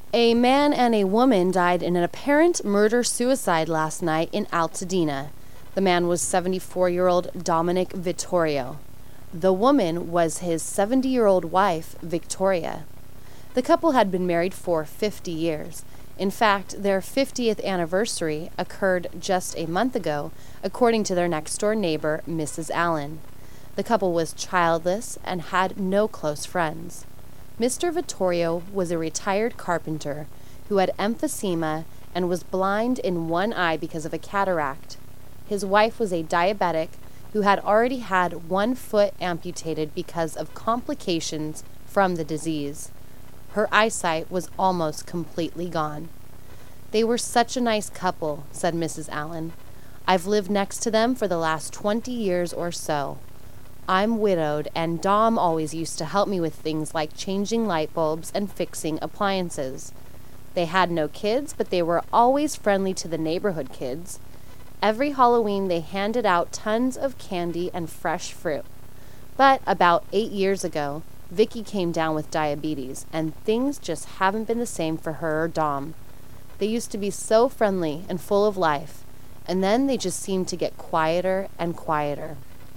A man and a woman died in an apparent murder-suicide last night in Altadena. The man was 74-year-old Dominic Vittorio. The woman was his 70-year-old wife, Victoria. The couple had been married for 50 years. In fact, their 50th anniversary occurred just a month ago, according to their next-door neighbor, Mrs. Allen. The couple was childless and had no close friends. Mr. Vittorio was a retired carpenter who had emphysema and was blind in one eye because of a cataract. His wife was a diabetic who had already had one foot amputated because of complications from the disease. Her eyesight was almost completely gone. "They were such a nice couple," said Mrs. Allen. "I've lived next to them for the last 20 years or so. I'm widowed, and Dom always used to help me with things like changing light bulbs and fixing appliances. They had no kids, but they were always friendly to the neighborhood kids. Every Halloween they handed out tons of candy and fresh fruit. But about 8 years ago, Vicky came down with diabetes, and things just haven't been the same for her or Dom. They used to be so friendly and full of life, and then they just seemed to get quieter and quieter.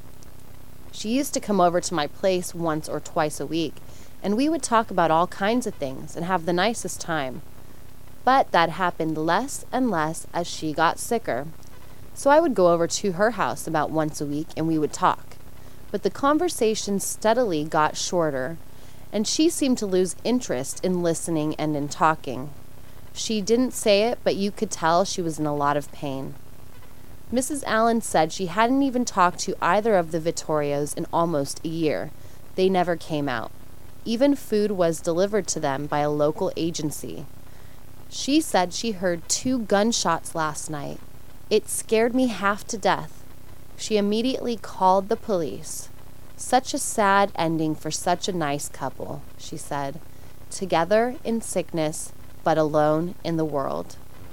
She used to come over to my place once or twice a week, and we would talk about all kinds of things and have the nicest time. But that happened less and less as she got sicker. So I would go over to her house about once a week and we would talk. But the conversation steadily got shorter, and she seemed to lose interest in listening and in talking. She didn't say it, but you could tell she was in a lot of pain. Mrs. Allen said she hadn't even talked to either of the Vittorios in almost a year. They never came out. Even food was delivered to them by a local agency. She said she heard 2 gunshots last night. It scared me half to death. She immediately called the police. Such a sad ending for such a nice couple, she said. Together in sickness, but alone in the world.